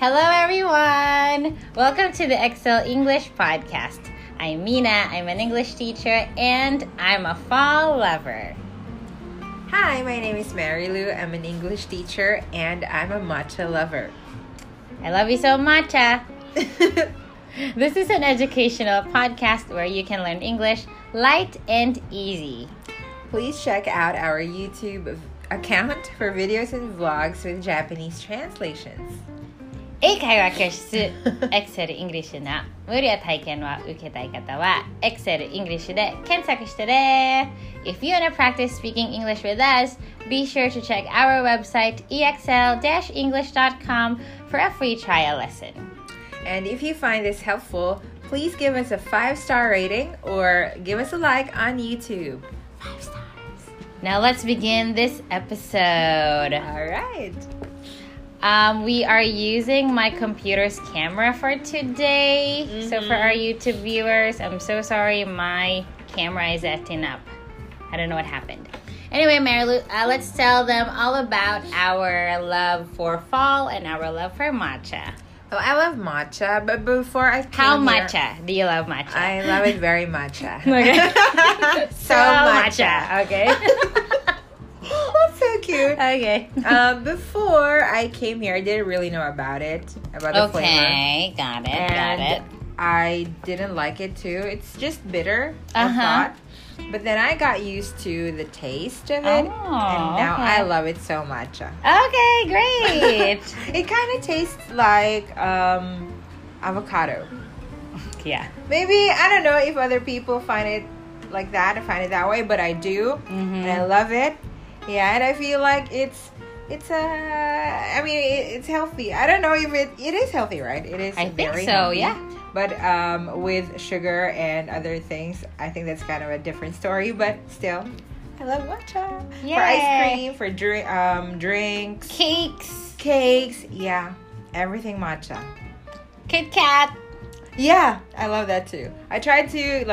Hello, everyone. Welcome to the Excel English podcast. I'm Mina. I'm an English teacher, and I'm a fall lover. Hi, my name is Mary Lou. I'm an English teacher, and I'm a matcha lover. I love you so much. This is an educational podcast where you can learn English light and easy. Please check out our YouTube account for videos and vlogs with Japanese translations. 英会話教室 Excel English の無料体験を受けたい方は Excel English で検索してね。If you want to practice speaking English with us, be sure to check our website exl-english.com for a free trial lesson. And if you find this helpful, please give us a 5-star rating or give us a like on YouTube. 5 stars. Now let's begin this episode. All right. We are using my computer's camera for today. Mm-hmm. So for our YouTube viewers, I'm so sorry my camera is acting up. I don't know what happened. Anyway, Marilu, let's tell them all about our love for fall and our love for matcha. Well, I love matcha, but before I came How here, matcha do you love matcha? I love it very matcha. Okay. So matcha. Okay. That's so cute. Okay. Before I came here, I didn't really know about the flavor. Okay, got it. I didn't like it too. It's just bitter, I thought. But then I got used to the taste of it, and now okay. I love it so much. Okay, great. It kind of tastes like avocado. Yeah. Maybe, I don't know if other people find it like that or find it that way, but I do, and I love it. Yeah, and I feel like it's healthy. I don't know if it is healthy, right? It is. I think very so, healthy. yeah. But with sugar and other things, I think that's kind of a different story. But still, I love matcha. Yay. For ice cream, for drinks, cakes, yeah, everything matcha. Kit Kat. Yeah, I love that too. I tried to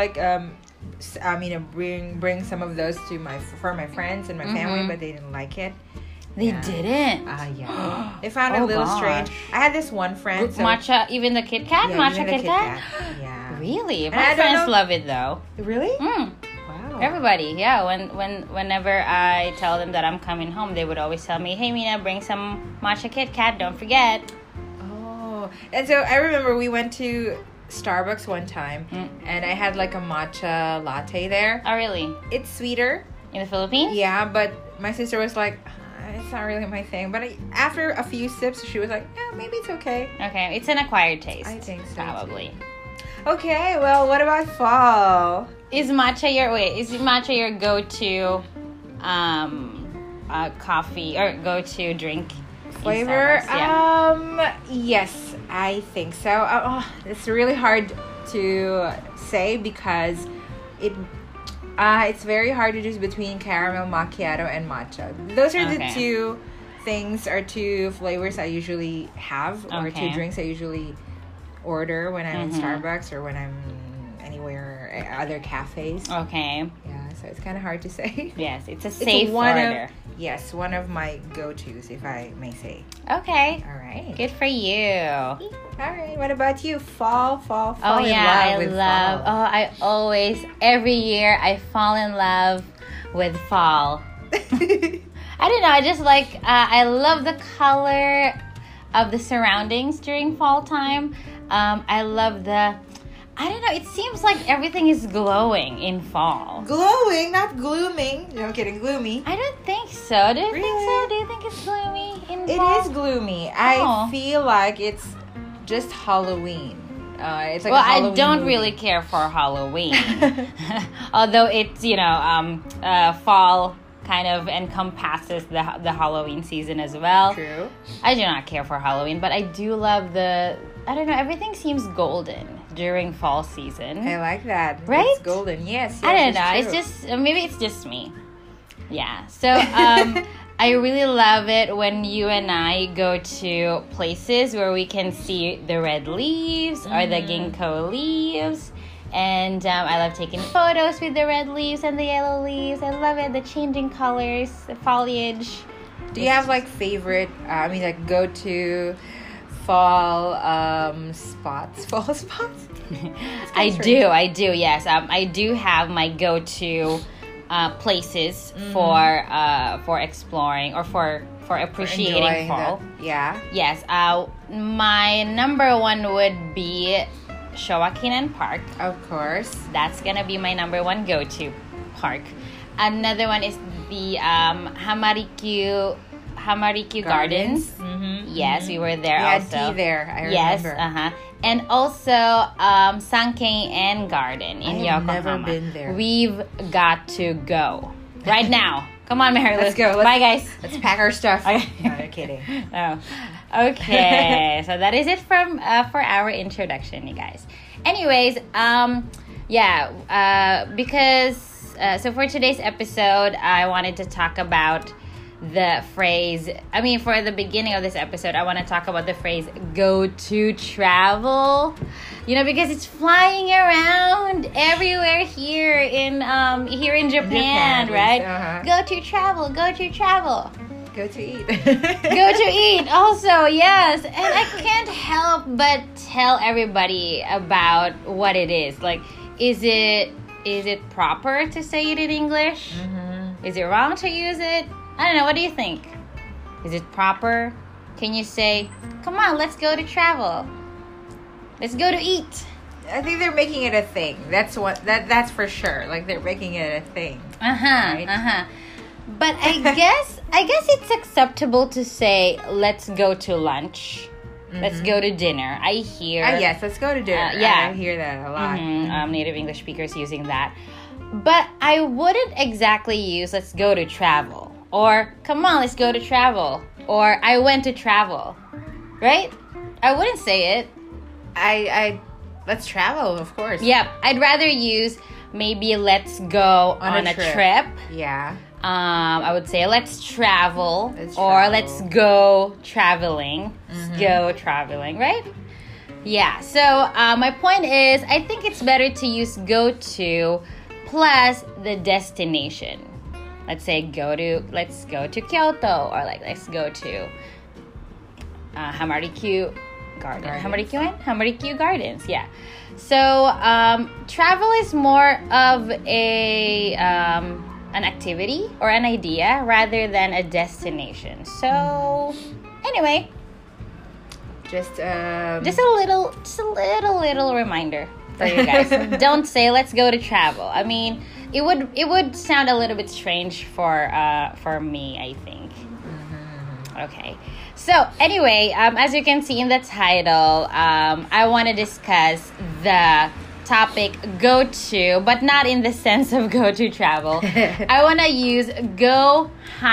bring some of those for my friends and my family, but they didn't like it. They didn't. Yeah. They found it a little strange. I had this one friend. Matcha, even the Kit Kat? Yeah, matcha even the Kit Kat? Yeah. Really? And My friends love it though. Really? Mm. Wow. Everybody, yeah. Whenever I tell them that I'm coming home, they would always tell me, "Hey, Mina, bring some matcha Kit Kat. Don't forget." Oh, and so I remember we went to Starbucks one time, and I had like a matcha latte there. Oh, really? It's sweeter. In the Philippines? Yeah, but my sister was like, it's not really my thing. But after a few sips, she was like, yeah, maybe it's okay. Okay, it's an acquired taste. I think so. Probably. Too. Okay, well, what about fall? Is matcha your go-to coffee or go-to drink Flavor? Yeah. Yes, I think so. It's really hard to say because it's very hard to choose between caramel macchiato and matcha. Those are the two things or two flavors I usually have, or two drinks I usually order when I'm in Starbucks or when I'm anywhere, other cafes. Okay. Yeah, so it's kind of hard to say. Yes, it's a safe order. Yes, one of my go-tos, if I may say. Okay. All right. Good for you. All right. What about you? Fall. Oh yeah, in love with fall. I always, every year, I fall in love with fall. I don't know. I just like. I love the color of the surroundings during fall time. I love the. I don't know. It seems like everything is glowing in fall. Glowing, not glooming. No kidding, gloomy. I don't think so. Do you Really? think so? Do you think it's gloomy in fall? It is gloomy. I feel like it's just Halloween. It's like well, a Halloween I don't movie. really care for Halloween. Although it's, fall kind of encompasses the Halloween season as well. True. I do not care for Halloween, but I do love everything seems golden during fall season. I like that. Right? It's golden. Yes. I don't know. True. It's just, maybe it's just me. Yeah. So, I really love it when you and I go to places where we can see the red leaves or the ginkgo leaves. And I love taking photos with the red leaves and the yellow leaves. I love it. The changing colors, the foliage. Do you have like favorite, go to fall spots. Fall spots? I do, yes. I do have my go-to places for exploring or for appreciating fall. Yeah. Yes. My number one would be Showa Kinen Park. Of course. That's gonna be my number one go-to park. Another one is the Hamarikyu Gardens. Mm-hmm. Yes, we were there We had also. tea there, I Yes, remember. and also Sankeien Garden in I have Yokohama. never been there. We've got to go right now. Come on, Mary. Let's go. Bye, guys. Let's pack our stuff. Okay. No, I'm kidding. Oh. Okay. So that is it from for our introduction, you guys. Anyways, because so for today's episode, I wanted to talk about the phrase. I mean, for the beginning of this episode, I want to talk about the phrase "go to travel." You know, because it's flying around everywhere here in Japan, right? Go to travel. Go to travel. Go to eat. Go to eat also, yes. And I can't help but tell everybody about what it is. Like, is it proper to say it in English? Mm-hmm. Is it wrong to use it? I don't know. What do you think? Is it proper? Can you say, come on, let's go to travel. Let's go to eat. I think they're making it a thing. That's that's for sure. Like, they're making it a thing. Right? But I guess it's acceptable to say, let's go to lunch. Mm-hmm. Let's go to dinner. I hear. Yes, let's go to dinner. Yeah. I hear that a lot. Mm-hmm. Native English speakers using that. But I wouldn't exactly use let's go to travel. Or come on, let's go to travel. Or I went to travel. Right? I wouldn't say it. Let's travel, of course. Yep. I'd rather use maybe let's go on a trip. Yeah. I would say let's travel. Let's or travel. let's go traveling. Let's go traveling, right? Yeah. So my point is, I think it's better to use go to plus the destination. Let's say let's go to Kyoto, or like let's go to Hamarikyu Gardens. Hamarikyu Gardens, yeah. So travel is more of an activity or an idea rather than a destination. So anyway, just a little reminder for you guys. Don't say let's go to travel. I mean, it would sound a little bit strange for me, I think. Okay. So anyway, as you can see in the title, I want to discuss the topic go to, but not in the sense of go to travel. I want to use go-to.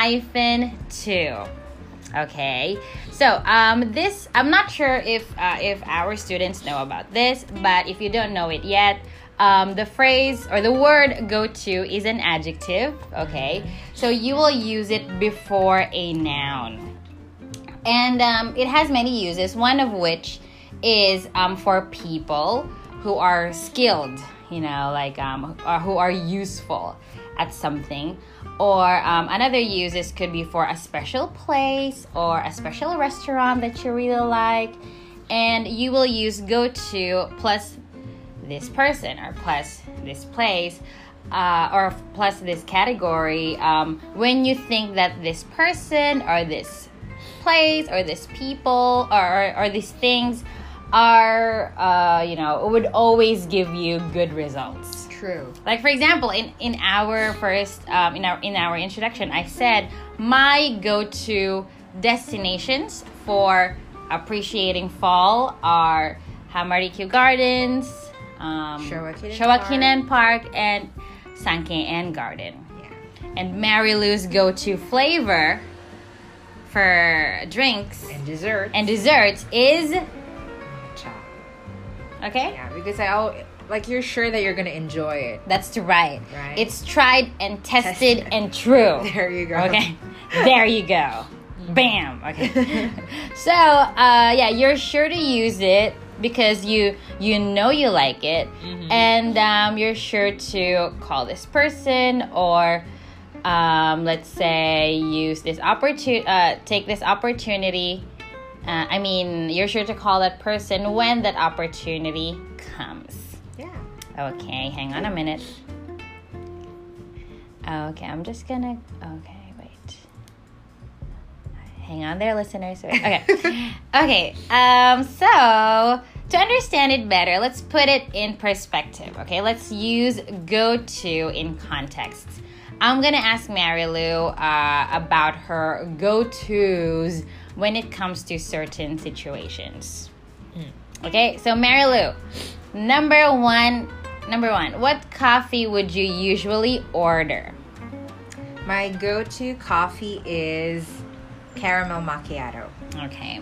Okay. So this, I'm not sure if our students know about this, but if you don't know it yet, the phrase or the word go to is an adjective. Okay. So you will use it before a noun. And it has many uses, one of which is for people who are skilled, you know, like who are useful at something. Or another uses could be for a special place or a special restaurant that you really like. And you will use go to plus this person or plus this place or plus this category when you think that this person or this place or this people or these things are would always give you good results. True. Like for example, in our first in our introduction, I said my go-to destinations for appreciating fall are Hamarikyu Gardens, Showa Kinen Park, and Sankeien Garden. Yeah. And Mary Lou's go-to flavor for drinks And dessert. desserts is Matcha. okay. Yeah, because you're sure that you're gonna enjoy it. That's right. Right. It's tried and tested and true. There you go. Okay. There you go. Bam. Okay. So, you're sure to use it because you know you like it, and you're sure to call this person or let's say use this take this opportunity you're sure to call that person when that opportunity comes. Yeah. Okay, hang on a minute. Okay, I'm just gonna. Okay, wait. Hang on there, listeners. Wait. Okay. Okay. So to understand it better, let's put it in perspective. Okay, let's use go-to in context. I'm gonna ask Mary Lou about her go-tos when it comes to certain situations. Okay, so Mary Lou, number one, what coffee would you usually order? My go-to coffee is caramel macchiato. Okay.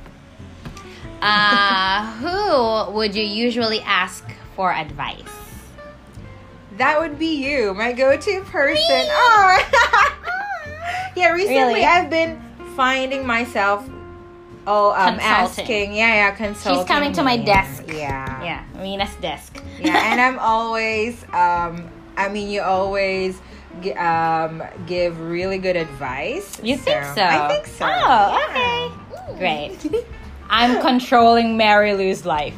Who would you usually ask for advice? That would be you, my go-to person. Oh. Yeah, recently Really? I've been finding myself Consulting. asking, consulting. She's coming to my me. desk. Yeah. Yeah, Mina's desk. Yeah, and I'm always you always give really good advice. You think so? I think so. Oh, Yeah. okay. Great. I'm controlling Mary Lou's life.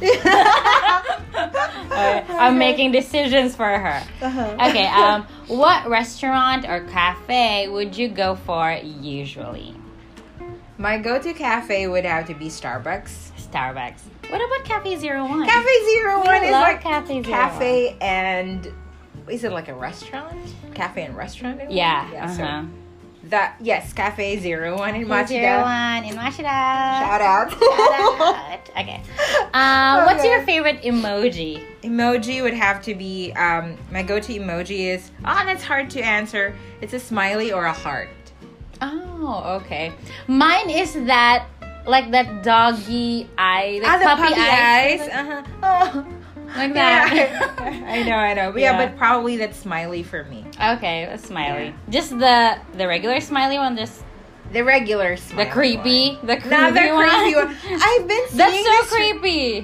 I'm making decisions for her. Okay, what restaurant or cafe would you go for usually? My go-to cafe would have to be Starbucks. Starbucks. What about Cafe 01? Cafe 01 is love like Cafe 01. cafe and is it like a restaurant? Cafe and restaurant? Yeah. So that yes, Cafe 01 in Cafe Machida. 01 in Machida. Shout out. Shout out. Okay. What's your favorite emoji? Emoji would have to be my go-to emoji is that's hard to answer. It's a smiley or a heart. Oh, okay. Mine is that like that doggy eye, like the puppy puppy eyes. eyes. Oh. Like that. Yeah. I know. But Yeah. but probably that smiley for me. Okay, a smiley. Yeah. Just the regular smiley one, just The regular smiley. the creepy, one. the creepy Not the one. creepy one. I've been seeing That's so this creepy.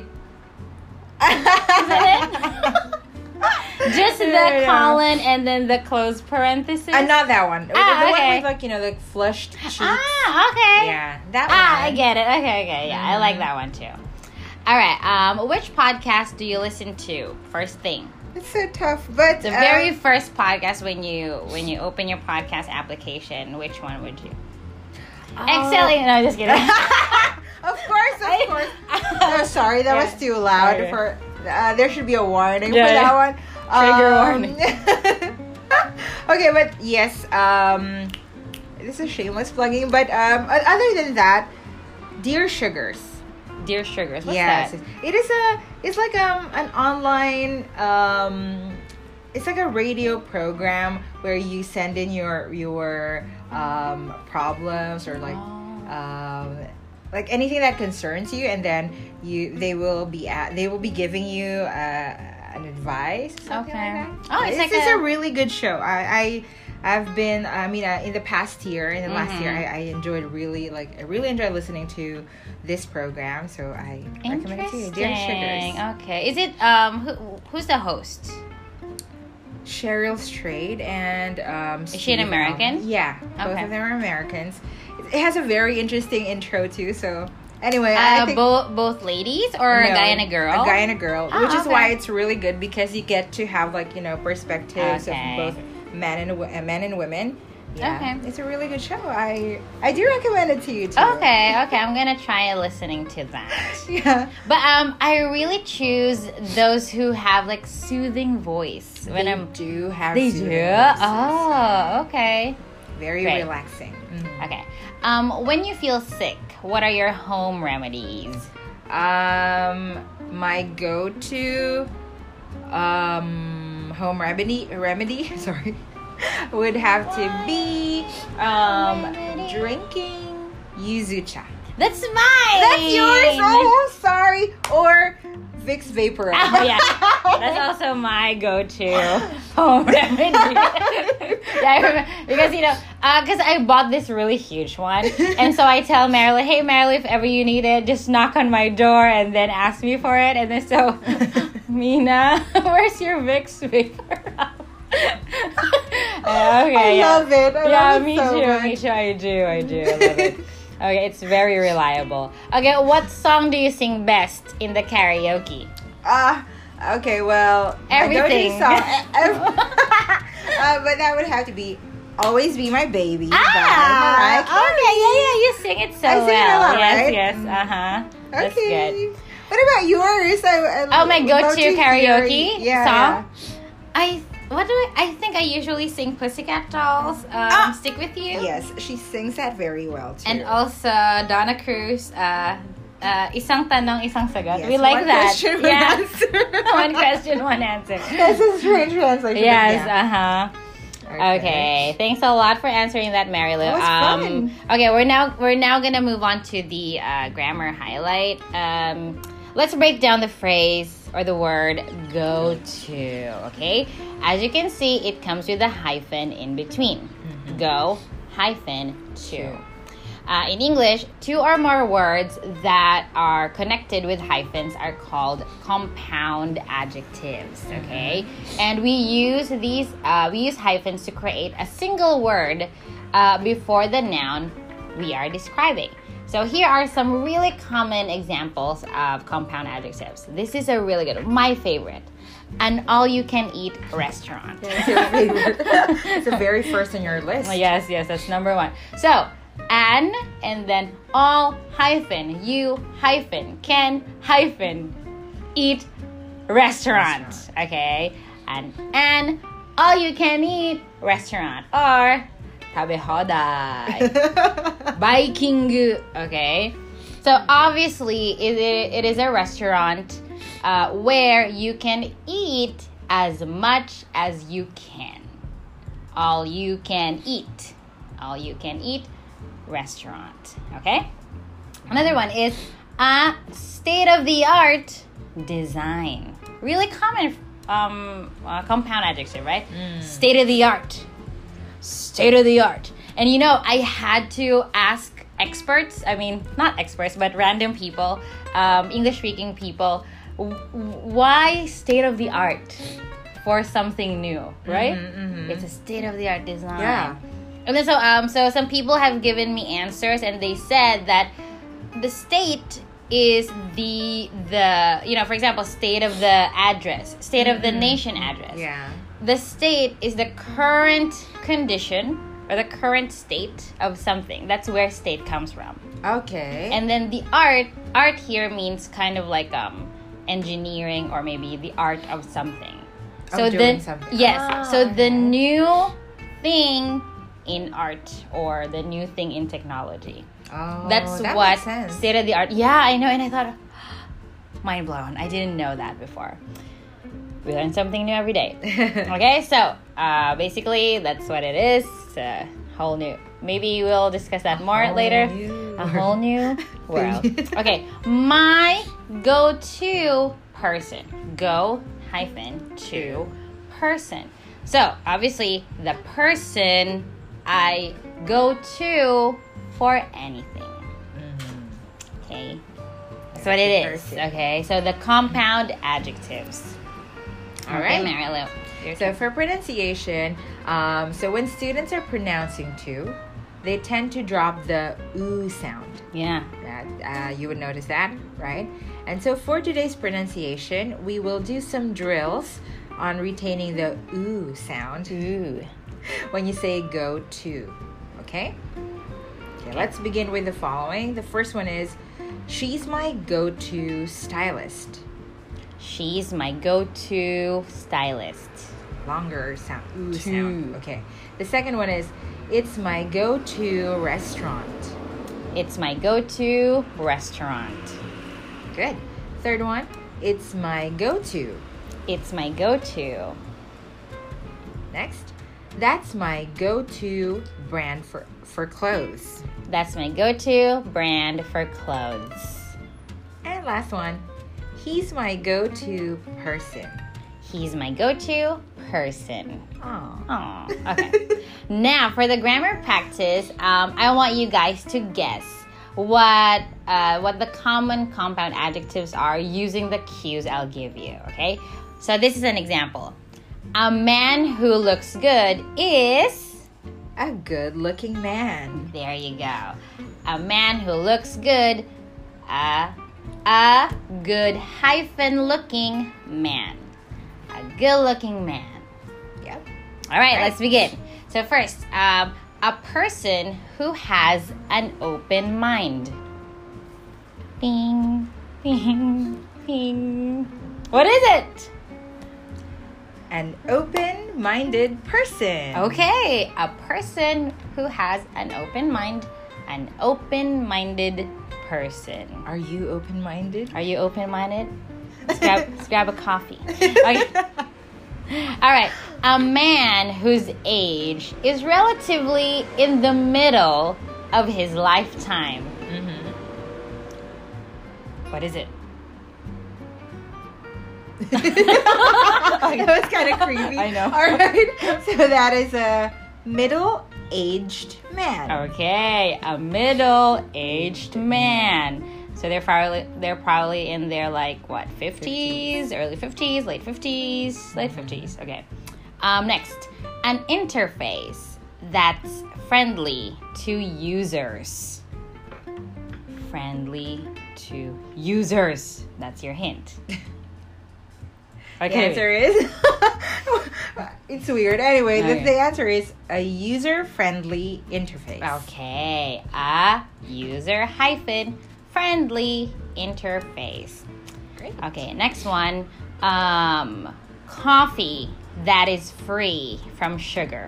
Isn't Just the Yeah. colon and then the closed parenthesis. not that one. The okay. one with like the flushed cheeks. Okay. Yeah, that one. I get it. Okay. Yeah, I like that one too. All right. Which podcast do you listen to first thing? It's so tough, but The very first podcast when you open your podcast application, which one would you? Excelling. No, just kidding. Of course. No, sorry, that was too loud. Okay. For there should be a warning Yeah, for that yeah. one. Trigger warning. Okay, but yes, this is shameless plugging. But other than that, Dear Sugars. Dear Sugars. What's Yes, that? it's like an online it's like a radio program where you send in your problems or like anything that concerns you, and then they will be giving you an advice. Something Okay. Like that. Oh, it's like a really good show. I've been in the past year, in the last year, I really enjoyed listening to this program, so I recommend it to you. Dear Sugars. Okay. Is it who's the host? Cheryl Strayed and Is she an Steve American? Allen. Yeah, both Okay. of them are Americans. It has a very interesting intro too. So anyway, I think both ladies or a no, guy and a girl? A guy and a girl, Oh, which is okay. why it's really good because you get to have perspectives Okay. of both men and women. Yeah, Okay. it's a really good show. I do recommend it to you too. Okay, I'm gonna try listening to that. Yeah. But I really choose those who have like soothing voice when They do have. They soothing do. voices. Oh, okay. Very Great. relaxing. Mhm. Okay. When you feel sick, what are your home remedies? My go-to home remedy sorry would have to be drinking yuzu cha. That's mine. That's yours. Oh, sorry. Or Vicks Vapor. Oh, yeah. That's also my go-to home remedy. Yeah, I remember, because because I bought this really huge one, and so I tell Marilyn, "Hey, Marilyn, if ever you need it, just knock on my door and then ask me for it." And then so, Mina, where's your Vicks Vapor? Okay, I love it. I love it me so too. much. Me too. I do. I love it. Okay, it's very reliable. Okay, what song do you sing best in the karaoke? Okay, well, Everything. My go-to song, but that would have to be "Always Be My Baby" by Mariah Carey. Okay, yeah, you sing it so I sing well. it a lot, Yes, right? yes, That's Okay. good. What about yours? Oh, my would love go-to to hear- karaoke yeah, song? I think I usually sing Pussycat Dolls, Stick With You. Yeah. Yes, she sings that very well too. And also Donna Cruz, Isang Tanong, Isang Sagot. Yes, We like one that. question, one answer. One question, one answer. That's a strange translation. but Yes, yeah. Okay, thanks a lot for answering that, Mary Lou. That was fun. Okay, we're now gonna move on to the grammar highlight. Let's break down the phrase or the word "go to." Okay, as you can see, it comes with a hyphen in between. Go hyphen to. In English, two or more words that are connected with hyphens are called compound adjectives, okay? And we use hyphens to create a single word before the noun we are describing. So here are some really common examples of compound adjectives. This is a really good one, my favorite. An all-you-can-eat restaurant. It's your favorite. It's the very first on your list. Yes, that's number one. So, an, and then all hyphen, you hyphen, can hyphen, eat, restaurant. Okay? And all you can eat restaurant or tabehodai. Biking. Okay? So obviously it is a restaurant where you can eat as much as you can. All you can eat. All you can eat restaurant. Okay? Another one is a state-of-the-art design. Really common compound adjective, right? State-of-the-art. State-of-the-art. And you know, I had to ask experts, not experts, but random people, English-speaking people, why state-of-the-art for something new, right? It's a state-of-the-art design. Yeah. And then so some people have given me answers, and they said that the state is the for example, state of the address, state of the nation address. Yeah. The state is the current condition or the current state of something. That's where state comes from. Okay. And then the art here means kind of like engineering or maybe the art of something. Of doing something. Yes. So the new thing in art or the new thing in technology. Oh, That's that what makes sense. state of the art. Yeah, I know. And I thought, mind blown. I didn't know that before. We learn something new every day. Okay, so basically that's what it is. It's a whole new. Maybe we'll discuss that more later. A whole new world. Okay, my go-to person. Go hyphen to person. So obviously the person I go to for anything. Okay, that's what it is. Person. Okay, so the compound adjectives. All right. Mary Lou. Your So turn. for pronunciation, so when students are pronouncing to, they tend to drop the oo sound. Yeah. You would notice that, right? And so for today's pronunciation, we will do some drills on retaining the oo sound Ooh. when you say go to. Okay? Okay, let's begin with the following. The first one is, she's my go-to stylist. She's my go-to stylist. Longer sound. Ooh To. sound. Okay. The second one is, it's my go-to restaurant. It's my go-to restaurant. Good. Third one, it's my go-to. It's my go-to. Next, that's my go-to brand for clothes. That's my go-to brand for clothes. And last one, he's my go-to person. He's my go-to person. Aww. Aw, okay. Now, for the grammar practice, I want you guys to guess what the common compound adjectives are using the cues I'll give you, okay? So this is an example. A man who looks good is A good-looking man. There you go. A man who looks good. A good hyphen-looking man. A good-looking man. Yep. All right, let's begin. So first, a person who has an open mind. Bing, bing, bing. What is it? An open-minded person. Okay, a person who has an open mind. An open-minded person. Are you open-minded? Are you open-minded? Let's grab a coffee. Okay. All right. A man whose age is relatively in the middle of his lifetime. Mm-hmm. What is it? That was kind of creepy. I know. All right. So that is a middle-aged man. Okay, a middle-aged man. So they're probably in their 50s, early 50s, late 50s. Okay. Next, an interface that's friendly to users. Friendly to users. That's your hint. Okay. The answer is it's weird. Anyway, Okay. the answer is a user-friendly interface. Okay, a user-friendly interface. Great. Okay, next one. Coffee that is free from sugar.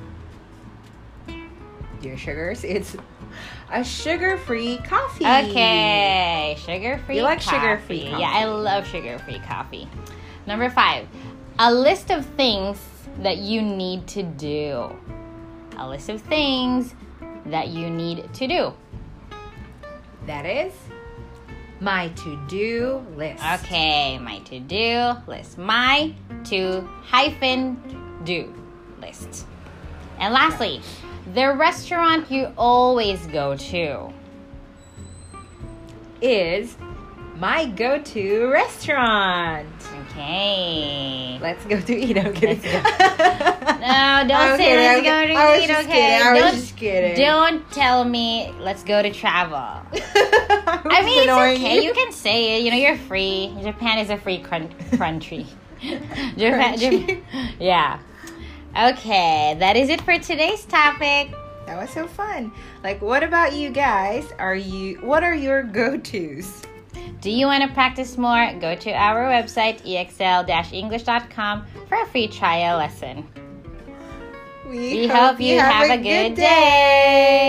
Dear sugars, it's a sugar-free coffee. Okay, sugar-free. You like coffee. sugar-free coffee. Yeah, I love sugar-free coffee. Number 5, a list of things that you need to do. A list of things that you need to do. That is my to-do list. Okay, my to-do list. My to-do list. And lastly, the restaurant you always go to. Is my go-to restaurant. Okay. Let's go to eat. I'm kidding. No, don't I'm say kidding, let's I'm go kidding. to I was eat, just okay? kidding. I was just kidding. Don't tell me let's go to travel. I mean, it's annoying okay. You can say it. You're free. Japan is a free country. Japan, yeah. Okay, that is it for today's topic. That was so fun. What about you guys? What are your go-tos? Do you want to practice more? Go to our website, exl-english.com, for a free trial lesson. We hope you have a good day.